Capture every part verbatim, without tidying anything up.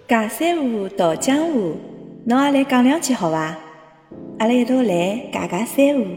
尬三胡，道江湖，侬也来讲两句好伐？阿拉一道来尬尬三胡。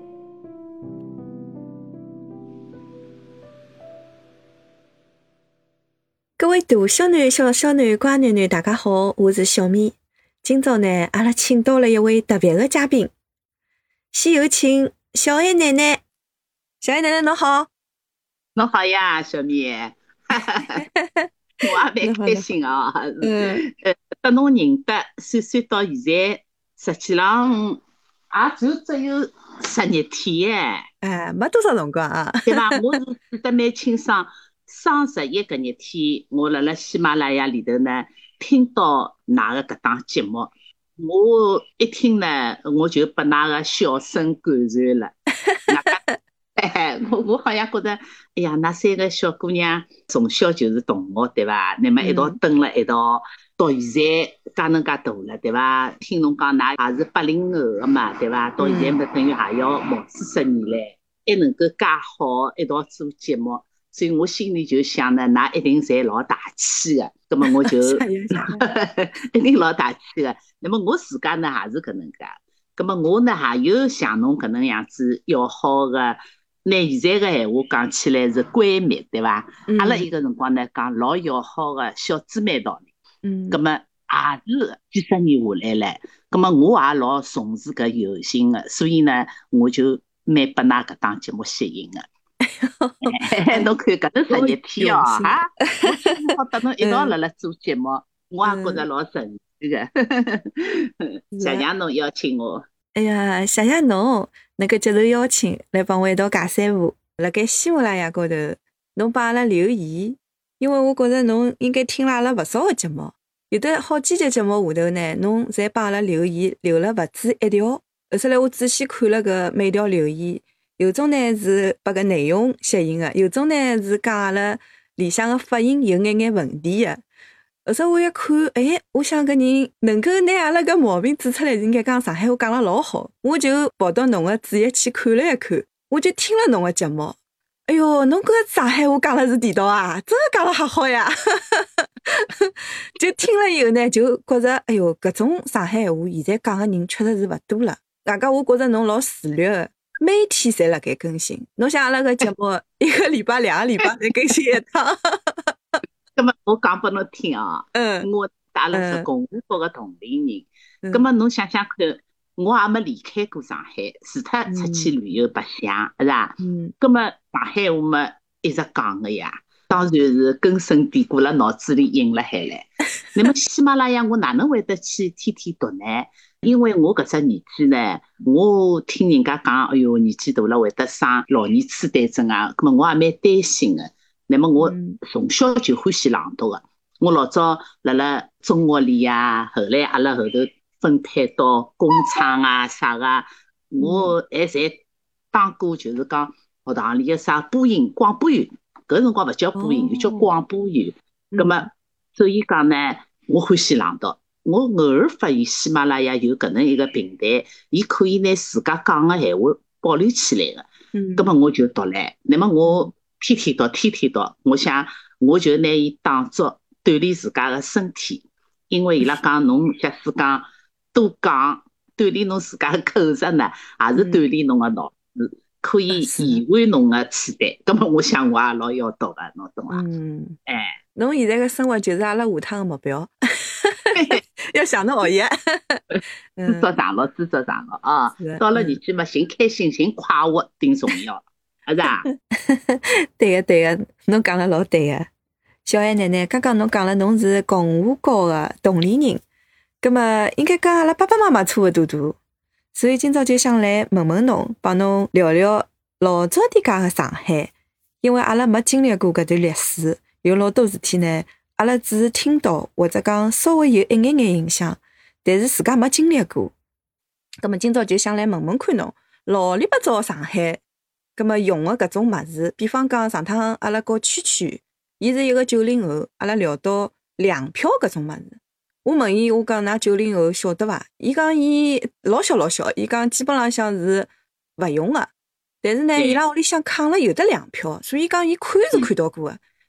各位大小囡、小小囡、乖囡囡，大家好，我是小咪。今朝呢，阿拉请到了一位特别的嘉宾，先有请小爱奶奶。小爱奶奶，侬好。 侬好呀，小咪。我也蛮开心啊！嗯，呃，跟侬认得，算算到现在，实际上也就只有十日天哎。 哎，没多少辰光啊。 对伐？我是记得蛮清爽，双十一搿日天，我辣辣喜马拉雅里头呢，听到㑚个搿档节目，我一听呢，我就被㑚个笑声感染了。哎，我我好像觉得，哎呀，那三个小姑娘从小就是同学，对伐？那么一道蹲了一道，到现在介能介大了，对伐？听侬讲，㑚也是八零后的嘛，对伐？到现在么等于也要毛四十年嘞，还能够介好一道做节目，所以我心里就想呢，㑚一定侪老大气的。那么我就一定老大气的。那么我自家呢也是搿能介，那么我呢也有像侬搿能样子要好的。拿现在个闲话讲起来是闺蜜，对伐？阿拉伊个辰光呢讲老要好个小姊妹道理。嗯。葛末也是几十年下来唻，葛末我也老重视搿友情个，所以呢，我就蛮被㑚搿档节目吸引个。侬看搿头十日天哦，哈，我今朝好搭侬一道辣辣做节目，我也觉着老神奇个。谢谢侬邀请我。 哎呀，谢谢侬能够接受邀请来帮我一道尬三胡。辣盖喜马拉雅高头，侬帮阿拉留言，因为我觉着侬应该听了阿拉勿少个节目，有的好几集节目下头呢，侬侪帮阿拉留言留了勿止一条。后头来我仔细看了搿每条留言，有种呢是把搿内容吸引个，有种呢是讲阿拉里向个发音有眼眼问题个。后头我一看，哎，我想搿人能够拿阿拉搿毛病指出来，应该讲上海话讲了老好。我就跑到侬个主页去看了一看，我就听了侬个节目。哎哟，侬搿上海话讲了是地道啊，真的讲了还好呀！就听了以后呢，就觉着，哎哟，搿种上海话现在讲个人确实是勿多了。外加我觉着侬老自律个，每天侪辣盖更新。侬想阿拉搿节目一个礼拜、两个礼拜才更新一趟。 咁么我讲拨侬听啊，嗯，我阿拉是共和国个同龄人，咁么侬想想看，我也没离开过上海，除脱出去旅游白相，是吧？嗯，咁么上海话嘛一直讲个呀，当然是根深蒂固辣脑子里印了海唻。那么喜马拉雅我哪能会得去天天读呢？因为我搿只年纪呢，我听人家讲，哎哟，年纪大了会得生老年痴呆症啊，咁么我也蛮担心个。那么我从小就欢喜朗读个，我老早辣辣中学里呀，后来阿拉后头分配到工厂啊啥个，我还侪当过就是讲学堂里个啥播音广播员，搿辰光勿叫播音员，叫广播员。葛么所以讲呢，我欢喜朗读。我偶尔发现喜马拉雅有搿能一个平台，伊可以拿自家讲个闲话保留起来个。嗯，葛么我就读唻。那么我天天读，天天读，我想我就拿伊当作锻炼自家个身体，因为伊拉讲侬假使讲多讲，锻炼侬自家个口舌呢，也是锻炼侬个脑子，可以延缓侬个痴呆。葛么我想我也老要读个，侬懂伐？嗯，哎， 侬现在个生活就是阿拉下趟个目标。要想到学业， 知足常乐，知足常乐啊！到了年纪嘛，寻开心，寻快活，顶重要，是吧？ 对个，对个，侬讲了老对个。小爱奶奶，刚刚侬讲了，侬是共和国个同龄人，葛么应该跟阿拉爸爸妈妈差勿多大，所以今朝就想来问问侬，帮侬聊聊老早点介个上海，因为阿拉没经历过搿段历史，有老多事体呢。阿拉只是听到或者讲稍微有一眼眼印象，但是自家没经历过。葛么今朝就想来问问看侬，老里八早上海，葛么用的搿种物事，比方讲上趟阿拉和圈圈，伊是一个九零后，阿拉聊到粮票搿种物事，我问伊，我讲㑚九零后晓得伐？伊讲伊老小老小，伊讲基本浪向是勿用个，但是呢，伊拉屋里向扛了有的粮票，所以讲伊看是看到过个。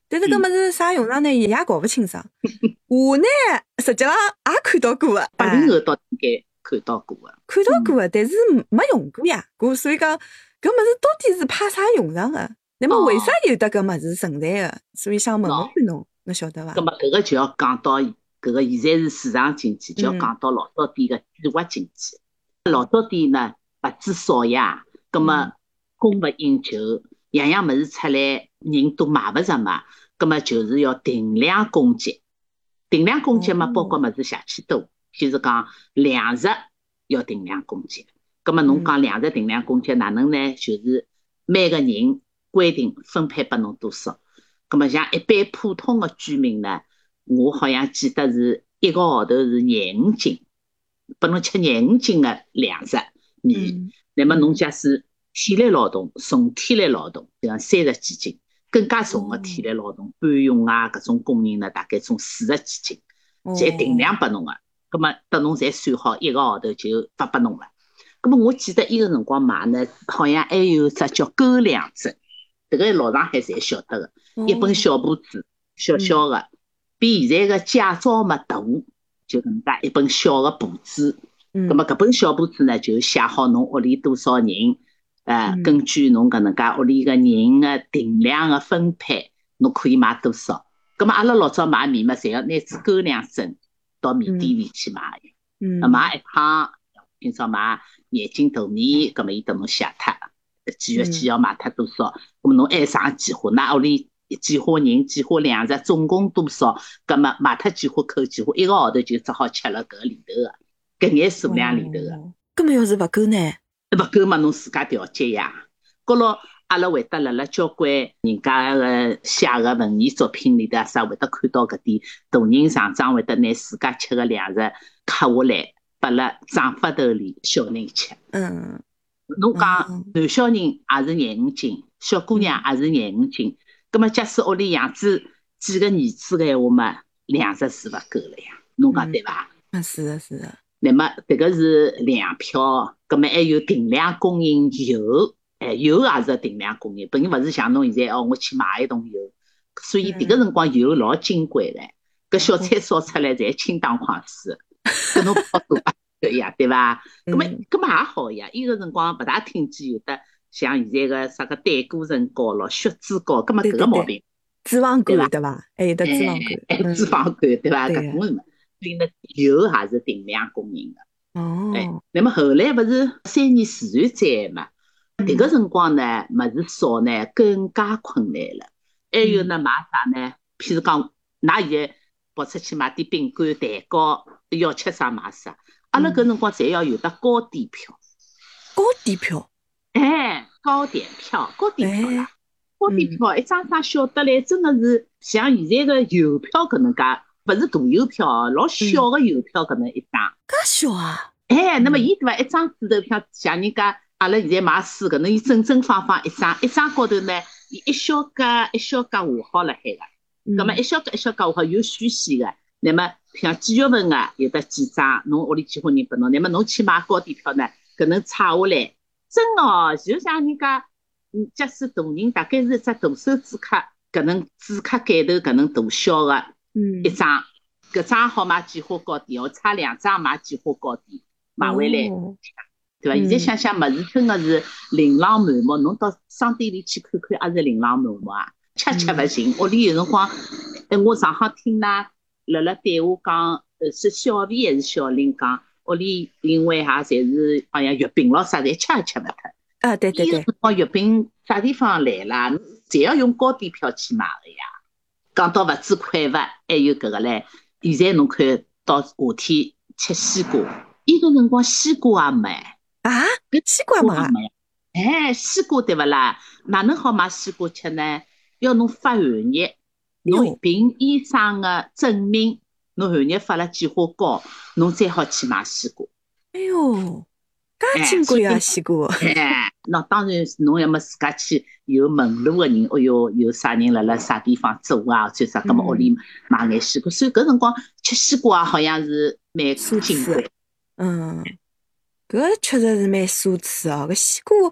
但是搿物事啥用场呢，也搞勿清爽。我呢，实际上也看到过个， 八零后倒应该看到过个， 看到过个，但是没用过呀。搿所以讲，搿物事到底是派啥用场个？那么为啥有得搿物事存在个？所以想问问看侬，侬晓得伐？ 搿么搿个就要讲到搿个现在是市场经济，就要讲到老早点个计划经济。老早点呢，物资少呀，搿么供勿应求，样样物事出来，人都买勿着嘛。咁么就是要定量供给，定量供给嘛，包括物事邪气多，譬如讲粮食要定量供给。咁么侬讲粮食定量供给哪能呢？就是每个人规定分配拨侬多少。咁么像一般普通的居民呢，我好像记得是一个号头是廿五斤，拨侬吃廿五斤的粮食米。那么侬假使体力劳动、重体力劳动，像三十几斤。更加重的体力劳动，搬运啊，搿种工人呢，大概从四十几斤，侪定量拨侬个。葛末等侬侪算好，一个号头就发拨侬了。葛末我记得伊个辰光买呢，好像还有只叫狗粮证，迭个老上海侪晓得个，一本小簿子，小小个，比现在个驾照嘛大，就搿能介一本小个簿子。葛末搿本小簿子呢，就写好侬屋里多少人。呃，根据侬搿能介屋里个人个定量个分配，侬可以买多少？葛末阿拉老早买米嘛，侪要拿支狗粮证到米店里去买个。嗯，买一趟，今朝买廿斤大米，葛末伊等侬写脱，几月几号买脱多少？葛末侬还上计划，㑚屋里几伙人、几伙粮食，总共多少？葛末买脱几伙扣几伙，一个号头就只好吃了搿里头个，搿眼数量里头个。 葛末要是勿够呢？ 勿够嘛，侬自家调节呀。高头阿拉会得辣辣交关人家个写个文艺作品里头啊，啥会得看到搿点大人厂长会得拿自家吃个粮食刻下来，拨辣长发头里小人吃。嗯，侬讲男小人也是廿五斤，小姑娘也是廿五斤。葛末假使屋里养子几个儿子个闲话嘛，粮食是勿够了呀。侬讲对伐？ 嗯，是的，是的。 那么这个是粮票，葛末还有定量供应油，哎，油也是定量供应，并勿是像侬现在哦，我去买一桶油，所以迭个辰光油老金贵唻，搿小菜烧出来侪清汤快水，搿侬泡多啊对呀，对伐？葛末葛末也好呀，伊个辰光勿大听见有得像现在个啥个胆固醇高咯、血脂高，葛末搿个毛病， 脂肪肝对伐？还有得脂肪肝，脂肪肝对伐？搿种嘛。所以呢，油也是定量供应的。哦，哎，那么后来勿是三年自然灾害嘛？迭个辰光呢，物事少呢更加困难了。还有呢，买啥呢？譬如讲，㑚现在跑出去买点饼干、蛋糕，要吃啥买啥。阿拉搿辰光侪要有得高点票。 高点票？ 哎，高点票，高点票啦！高点票一张张小得来，真的是像现在个邮票搿能介。勿是大邮票，老小个邮票搿能一张， 介小啊！ 哎，那么伊对伐？一张纸头票，像人家阿拉现在买书搿能，伊正正方方一张，一张高头呢，伊一小格一小格画好了海个，葛末一小格一小格画好有虚线个。那么像几月份个有得几张，侬屋里几伙人拨侬，那么侬去买高点票呢，搿能拆下来，真哦，就像人家，嗯，假使大人大概是一只大手指卡，搿能指卡盖头搿能大小个。嗯，一张，搿张好买几花糕点，我差两张买几花糕点，买回来，哦、对伐？现在想想，物事真的是琳琅满目，侬到商店里去看看，也是琳琅满目啊，吃吃勿尽。屋里有辰光，哎，我上趟听㑚辣辣对话讲，呃，是小 V 还是小林讲，屋里因为哈侪是好像月饼咯啥，侪吃也吃勿脱。 啊，对对对。 辰光月饼啥地方来啦？侪要用高点票去买个呀。讲到物资匮乏，还有搿个唻。现在侬看到夏天吃西瓜，伊个辰光西瓜也没啊，搿西瓜没。 哎，西瓜对勿啦？哪能好买西瓜吃呢？要侬发寒热，侬凭医生个证明，侬寒热发了几花膏，侬再好去买西瓜。 哎哟，介金贵啊西瓜！ 哎，那当然侬要么自家去有门路个人，哦哟，有啥人辣辣啥地方做啊，或者啥，搿么屋里买眼西瓜。所以搿辰光吃西瓜好像是蛮金贵。 嗯，搿确实是蛮奢侈哦。搿西瓜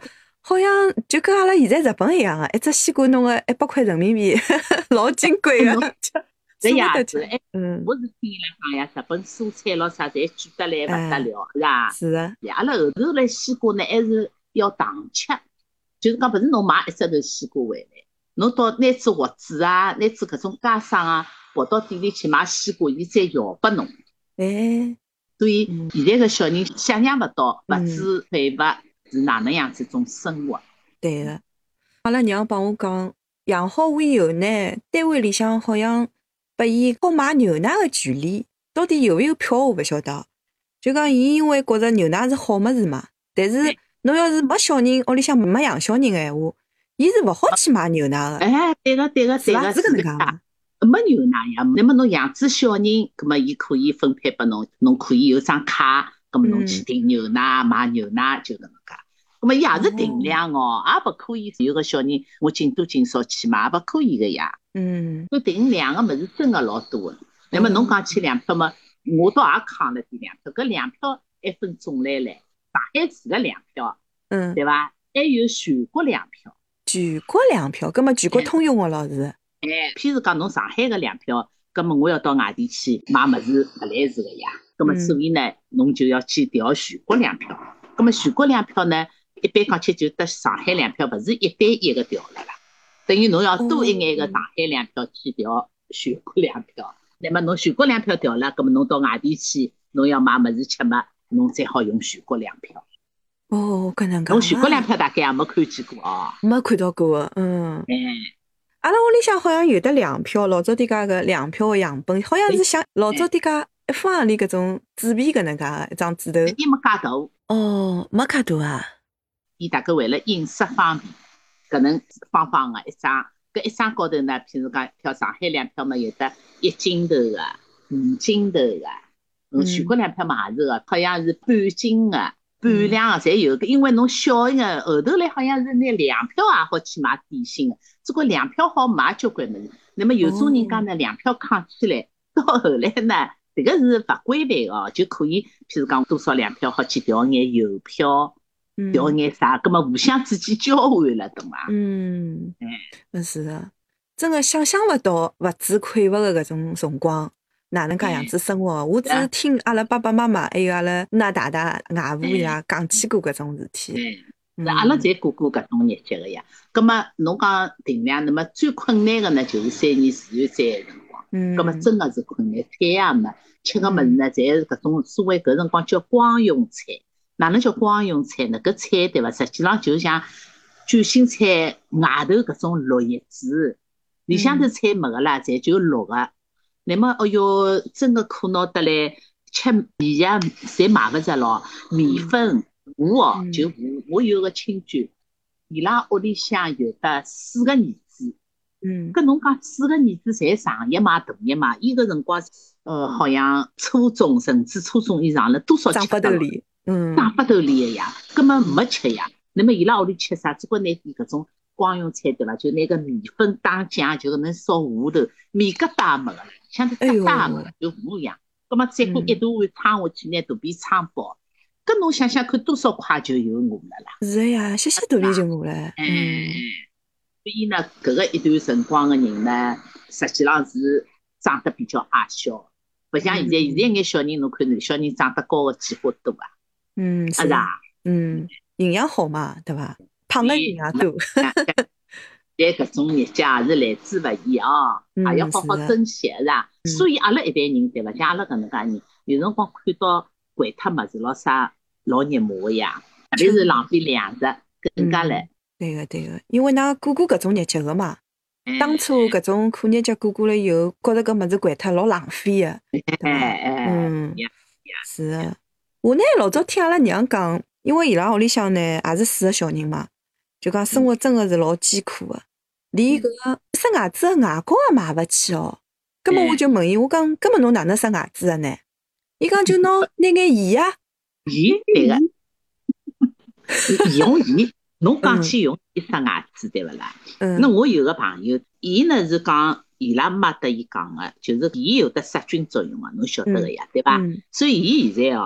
好像就跟阿拉现在日本一样个，一只西瓜弄个一百块人民币，老金贵个。 这样子，哎，嗯，我是听伊拉讲呀，日本蔬菜咯啥，侪贵得来勿得了，是吧？ 是啊。 阿拉后头来西瓜呢，还是要糖吃，就是讲，勿是侬买一只头西瓜回来，侬到拿支盒子啊，拿支搿种家商啊，跑到店里去买西瓜，伊再摇拨侬。 哎， 所以现在个小人想象勿到物质匮乏是哪能样子一种生活。 对个，阿拉娘帮我讲，养好胃以后呢，单位里向好像拨伊好买牛奶个权利，到底有没有票我勿晓得。就讲伊因为觉着牛奶是好物事嘛，但是侬要是没小人，屋里向没养小人个闲话，伊是勿好去买牛奶个。 哎，对个对个对个， 是搿能介个。 没牛奶呀，那么侬养只小人，葛么伊可以分配拨侬，侬可以有张卡，葛么侬去订牛奶、买牛奶就搿能介。葛么伊也是定量哦，也勿可以有个小人我尽多尽少去买，也勿可以个呀。 嗯， 搿定量个物事真个老多个。那么侬讲起粮票嘛，我倒也扛了点粮票，搿粮票还分种类唻，上海市个粮票， 嗯， 对伐？还有全国粮票。 全国粮票，葛么全国通用个咯是？ 哎，譬如讲侬上海个粮票，葛么我要到外地去买物事勿来事个呀。葛么所以呢，侬就要去调全国粮票。葛么全国粮票呢，一般讲起就得上海粮票勿是一对一个调了啦，等于侬要多一眼个上海粮票去调全国粮票。那么侬全国粮票调了，葛么侬到外地去，侬要买物事吃嘛，侬才好用全国粮票。 哦，搿能介。 侬全国粮票大概也没看见过哦。 没看到过个，嗯。 哎。 阿拉屋里向好像有的粮票，老早点介个粮票个样本，好像是像老早点介一方行钿搿种纸币搿能介个一张纸头。 伊没介大。 哦，没介大啊。 伊大概为了印刷方便，搿能方方个一张，搿一张高头呢，譬如讲票上海粮票嘛，有得一斤头个、五斤头个，嗯，全国粮票嘛也是个，好像是半斤个。半两个侪有个，因为侬小一个后头来好像是拿粮票也好去买点心个，只不过粮票好买交关物事。那么有种人家呢，粮票扛起来，到后来呢，这个是勿规范哦，就可以譬如讲多少粮票好去调眼邮票，调眼啥，葛么互相之间交换了，懂伐？ 嗯，哎，是的，真个想象勿到物质匮乏个搿种辰光。哪能介样子生活？我只是听阿拉爸爸妈妈还有阿拉那大大外婆伊拉讲起过搿种事体。 是阿拉侪过过搿种日节个呀。葛末侬讲定量，那么最困难个呢，就是三年自然灾个辰光。嗯。葛末真个是困难，菜也没，吃个物事呢，侪是搿种所谓搿辰光叫光用菜。哪能叫光用菜呢？搿菜对伐？实际上就像卷心菜外头搿种绿叶子，里向头菜没个啦，侪就绿个。那么，哦哟，真个苦恼得来，吃米呀，侪买勿着咯。米粉，我哦，就我，我有个亲眷，伊拉屋里向有得四个儿子。嗯。搿侬讲四个儿子侪上一嘛，大一嘛，伊个辰光，呃，好像初中甚至初中以上了，多少吃长发头里，嗯， 长发头里个呀，根本没吃呀。那么伊拉屋里吃啥？只管拿点搿种光用菜对伐？就拿个米粉打酱，就搿能烧糊头，面疙瘩没个了。像是疙瘩个，就糊一样。葛么再过一大碗汤下去，拿肚皮撑饱。搿侬想想看，多少快就有饿了啦？ 是个呀，歇歇肚皮就饿了。 嗯。所以呢，搿个一段辰光个人呢，实际上是长得比较矮小，勿像现在，现在眼小人侬看，小人长得高个计划多啊。 嗯，是啊。 嗯，营养好嘛，对伐？胖个营养多。 但搿种日节也是来之勿易哦，也要好好珍惜，是伐？所以阿拉一代人对伐？像阿拉搿能介人，有辰光看到掼脱物事咯啥，老热骂个呀，特别是浪费粮食，更加来。 对个对个，因为㑚过过搿种日节个嘛，当初搿种苦日节过过了以后，觉着搿物事掼脱老浪费个，对伐？嗯，是个。我呢老早听阿拉娘讲，因为伊拉屋里向呢也是四个小人嘛。就讲生活真的是老艰苦的，连搿个塞牙子的牙膏也买勿起哦。葛末我就问伊，我讲，葛末侬哪能塞牙子的呢？伊讲就拿拿眼盐啊。 盐对个，用盐，侬讲起用盐塞牙子对勿啦？嗯。那我有个朋友，伊呢是讲伊拉妈搭伊讲个，就是盐有得杀菌作用个，侬晓得个呀，对伐？所以伊现在哦，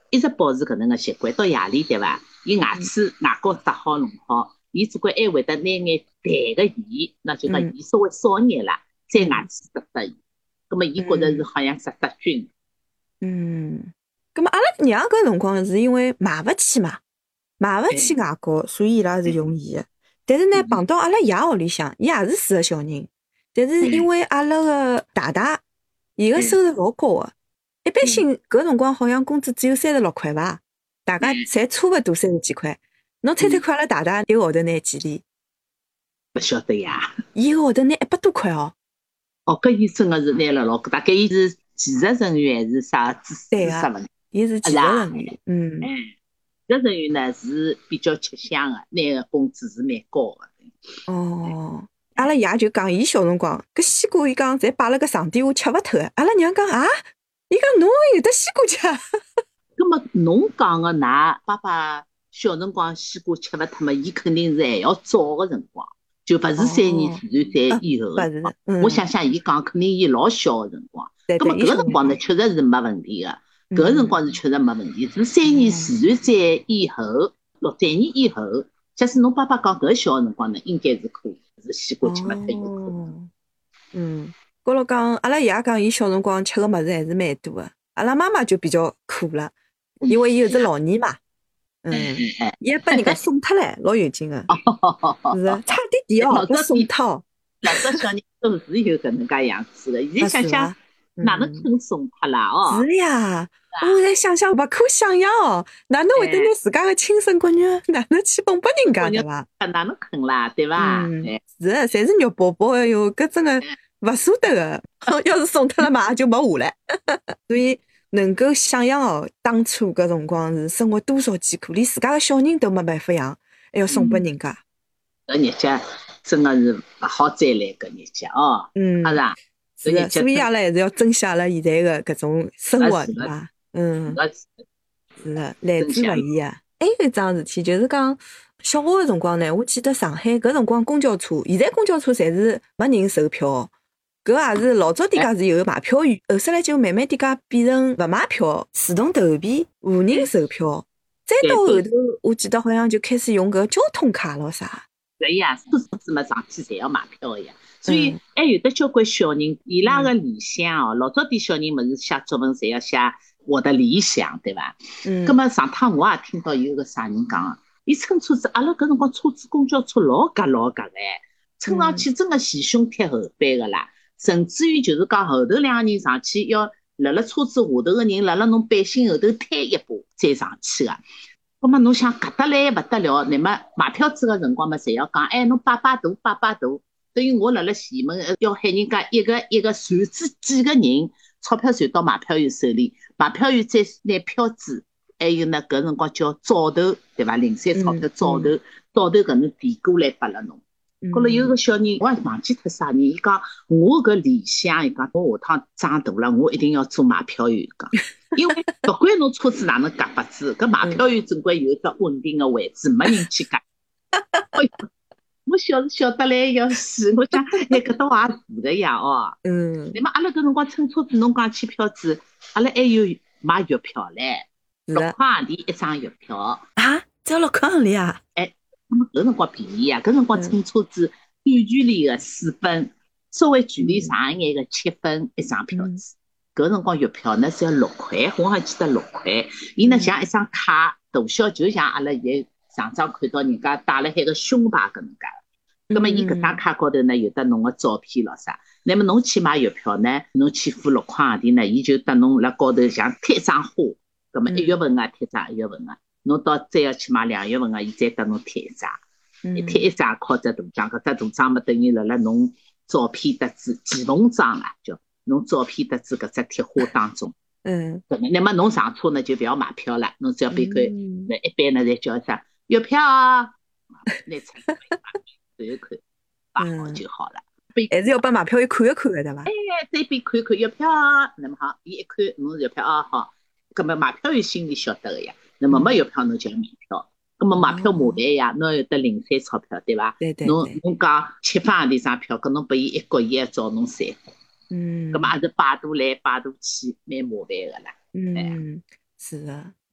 一直保持搿能个习惯，到夜里对伐？伊牙齿牙膏刷好弄好，伊只管还会得拿眼淡个盐，那就讲盐稍微少眼啦，再牙齿刷刷伊。葛末伊觉着是好像刷刷均。 嗯，葛末阿拉娘搿辰光是因为买勿起嘛，买勿起牙膏，所以伊拉是用盐个。但是呢，碰到阿拉爷屋里向，伊也是四个小人，但是因为阿拉个大大，伊个收入老高个，一般性搿辰光好像工资只有三十六块伐，大家侪差勿多三十几块。侬猜猜看，阿拉大大一个号头拿几钿？ 勿晓得呀。 伊个号头拿一百多块哦。 哦，搿伊真个是拿了老大概伊是技术人员还是啥知识问题？ 伊是技术人员，嗯。 技术人员呢是比较吃香个，拿个工资是蛮高个。 哦，阿拉爷就讲，伊小辰光搿西瓜，伊讲侪摆辣搿床底下吃勿脱个。阿拉娘讲啊，伊讲侬有得西瓜吃？ 葛末侬讲个㑚爸爸小辰光西瓜吃勿脱嘛？伊肯定是还要早个辰光，就勿是三年自然灾以后个辰光。我想想，伊讲肯定伊老小个辰光，葛末搿个辰光呢，确实是没问题个。搿个辰光是确实没问题，是三年自然灾以后，六三年以后，假使侬爸爸讲搿小个辰光呢，应该是可以，是西瓜吃勿脱有可能。 嗯，高头讲，阿拉爷讲，伊小辰光吃个物事还是蛮多个。阿拉妈妈就比较苦了，因为伊有只老二嘛，嗯，伊还拨人家送脱唻，老有劲个，是啊，差点点哦，拨送脱。 老早小人都是有搿能介样子个，现在想想。哪能肯送脱啦？哦， 是呀，我在想想，勿可想象哦，哪能会得拿自家的亲生骨肉，哪能去送拨人家对伐？ 哪能肯啦，对伐？ 嗯，是，侪是肉包包，哎哟，搿真个勿舍得个。要是送脱了嘛，就没话了。所以能够想象哦，当初搿辰光是生活多少艰苦，连自家个小人都没办法养，还要送拨人家。 搿日脚真个是勿好再来搿日脚哦， 嗯， 是啊。 是的，所以阿拉还是要珍惜阿拉现在的搿种生活，对伐？嗯，是的，来之勿易啊。还有一桩事体，就是讲小学个辰光呢，我记得上海搿辰光公交车，现在公交车侪是没人售票，搿也是老早点介是有买票员，后首来就慢慢点介变成勿买票，自动投币，无人售票。再到后头，我记得好像就开始用搿交通卡咯啥。 对呀，车子嘛上去侪要买票个呀。所以还有的交关小人，伊拉个理想哦，老早点小人么是写作文，侪要写我的理想，对伐？嗯。葛末上趟我也听到有个啥人讲，伊乘车子，阿拉搿辰光车子公交车老夹老夹哎，乘上去真个前胸贴后背个啦，甚至于就是讲后头两个人上去要辣辣车子下头个人辣辣侬背心后头推一把再上去个。葛末侬想夹得来勿得了，乃末买票子个辰光嘛，侪要讲，哎，侬摆摆大摆摆大。等于我辣辣前门要喊人家一个一个传子几个人，钞票传到买票员手里，买票员再拿票子，还有呢搿辰光叫早头，对伐？零散钞票早头，早头搿能递过来拨了侬。后来有个小人，我也忘记脱啥人，伊讲我搿理想，伊讲我下趟长大了，我一定要做买票员。讲，因为不管侬车子哪能夹法子，搿买票员总归有一只稳定个位置，没人去夹。我晓得晓得来要死，我讲哎，搿倒也是的呀哦。嗯。那么阿拉搿辰光乘车子，侬讲起票子，阿拉还有买月票唻，六块行钿一张月票。 啊，只要六块行钿啊？ 哎，那么搿辰光便宜啊，搿辰光乘车子短距离个四分，稍微距离长一眼个七分一张票子。搿辰光月票呢是要六块，我还记得六块。伊呢像一张卡，大小就像阿拉现在上张看到人家戴了海个胸牌搿能介。咁么，伊搿张卡高头呢有得侬个照片咯啥？那么侬去买月票呢，侬去付六块行钿呢，伊就搭侬辣高头像贴张花。咁么一月份啊贴张一月份啊，侬到再要去买两月份啊，伊再搭侬贴一张，一贴一张靠只大章，搿只大章么等于辣辣侬照片搭子寄奉章啊，叫侬照片搭子搿只贴花当中。嗯。咁么，那么侬上车呢就勿要买票了，侬只要别个那一般呢侪叫啥月票啊，拿出来买。看一看，摆好就好了。 还是要把买票员看一看的，对伐？ 哎，这边看看月票，那么好，伊一看侬月票啊好，葛么买票员心里晓得个呀。那么没月票侬就要买票，葛么买票麻烦呀，侬有得零散钞票对伐？ 对对。 侬侬讲七分行钿张票，搿侬拨伊一角，伊还找侬三分。嗯。葛么也是摆渡来摆渡去，蛮麻烦个啦。 嗯，是的。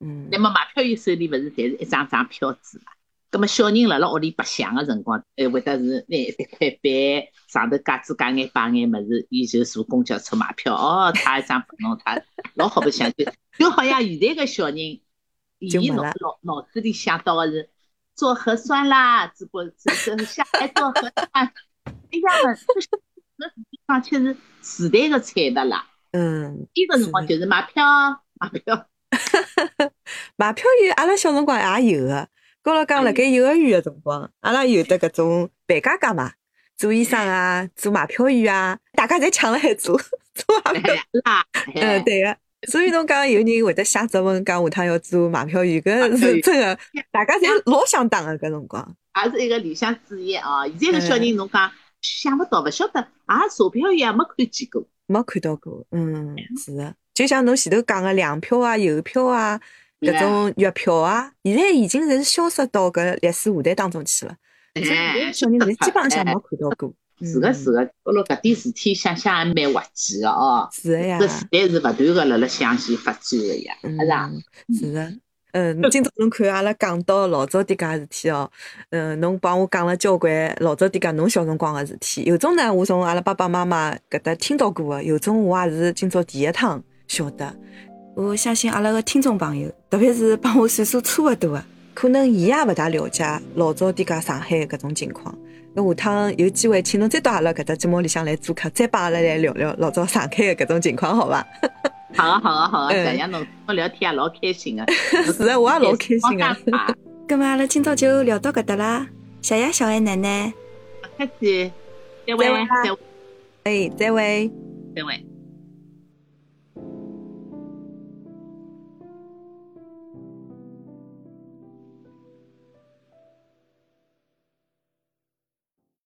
嗯。 那么买票员手里勿是侪是一张张票子嘛？咁么小人辣辣屋里白相个辰光，还会得是拿一块板上头架子架眼摆眼物事，伊就坐公交车买票。哦，他一张拨侬，他老好白相，就就好像现在个小人，伊脑脑脑子里想到个是做核酸啦，只不过是下来做核酸，一样的。搿地方确实时代个产物啦。 嗯， 伊个辰光就是买票，买票。 买票员阿拉小辰光也有个。高头讲辣盖幼儿园个辰光，阿拉有的搿种扮家家嘛，做医生啊，做买票员啊，大家侪抢了海做做买票啦。嗯，对个。所以侬讲有人会得写作文讲下趟要做买票员，搿是真个，大家侪老想当个搿辰光。 也是一个理想职业哦。现在个小人侬讲想勿到，勿晓得，也查票员也没看见过， 没看到过。嗯，是个。就像侬前头讲个粮票啊、邮票啊。搿种月票啊，现在已经侪是消失到搿历史舞台当中去了。 哎， 小人侪基本上没看到过。 是个是个，不过搿点事体想想也蛮滑稽个哦。 是个呀。 搿时代是勿断个辣辣向前发展个呀，是伐？ 是个。嗯，今朝侬看阿拉讲到老早点介事体哦，嗯，侬帮我讲了交关老早点介侬小辰光个事体。有种呢，我从阿拉爸爸妈妈搿搭听到过个；有种我也是今朝第一趟晓得。我相信阿拉个听众朋友，特别是帮我岁数差勿多个，可能伊也勿大了解老早点介上海搿种情况。那下趟有机会，请侬再到阿拉搿只节目里向来做客，再帮阿拉来聊聊老早上海个搿种情况，好伐？ 好啊，好啊，好啊！这样侬我聊天也老开心个。 是啊，我也老开心个。咁么阿拉今朝就聊到搿搭啦，谢谢小爱奶奶。 不客气，再会，再会。 哎，再会， 再会。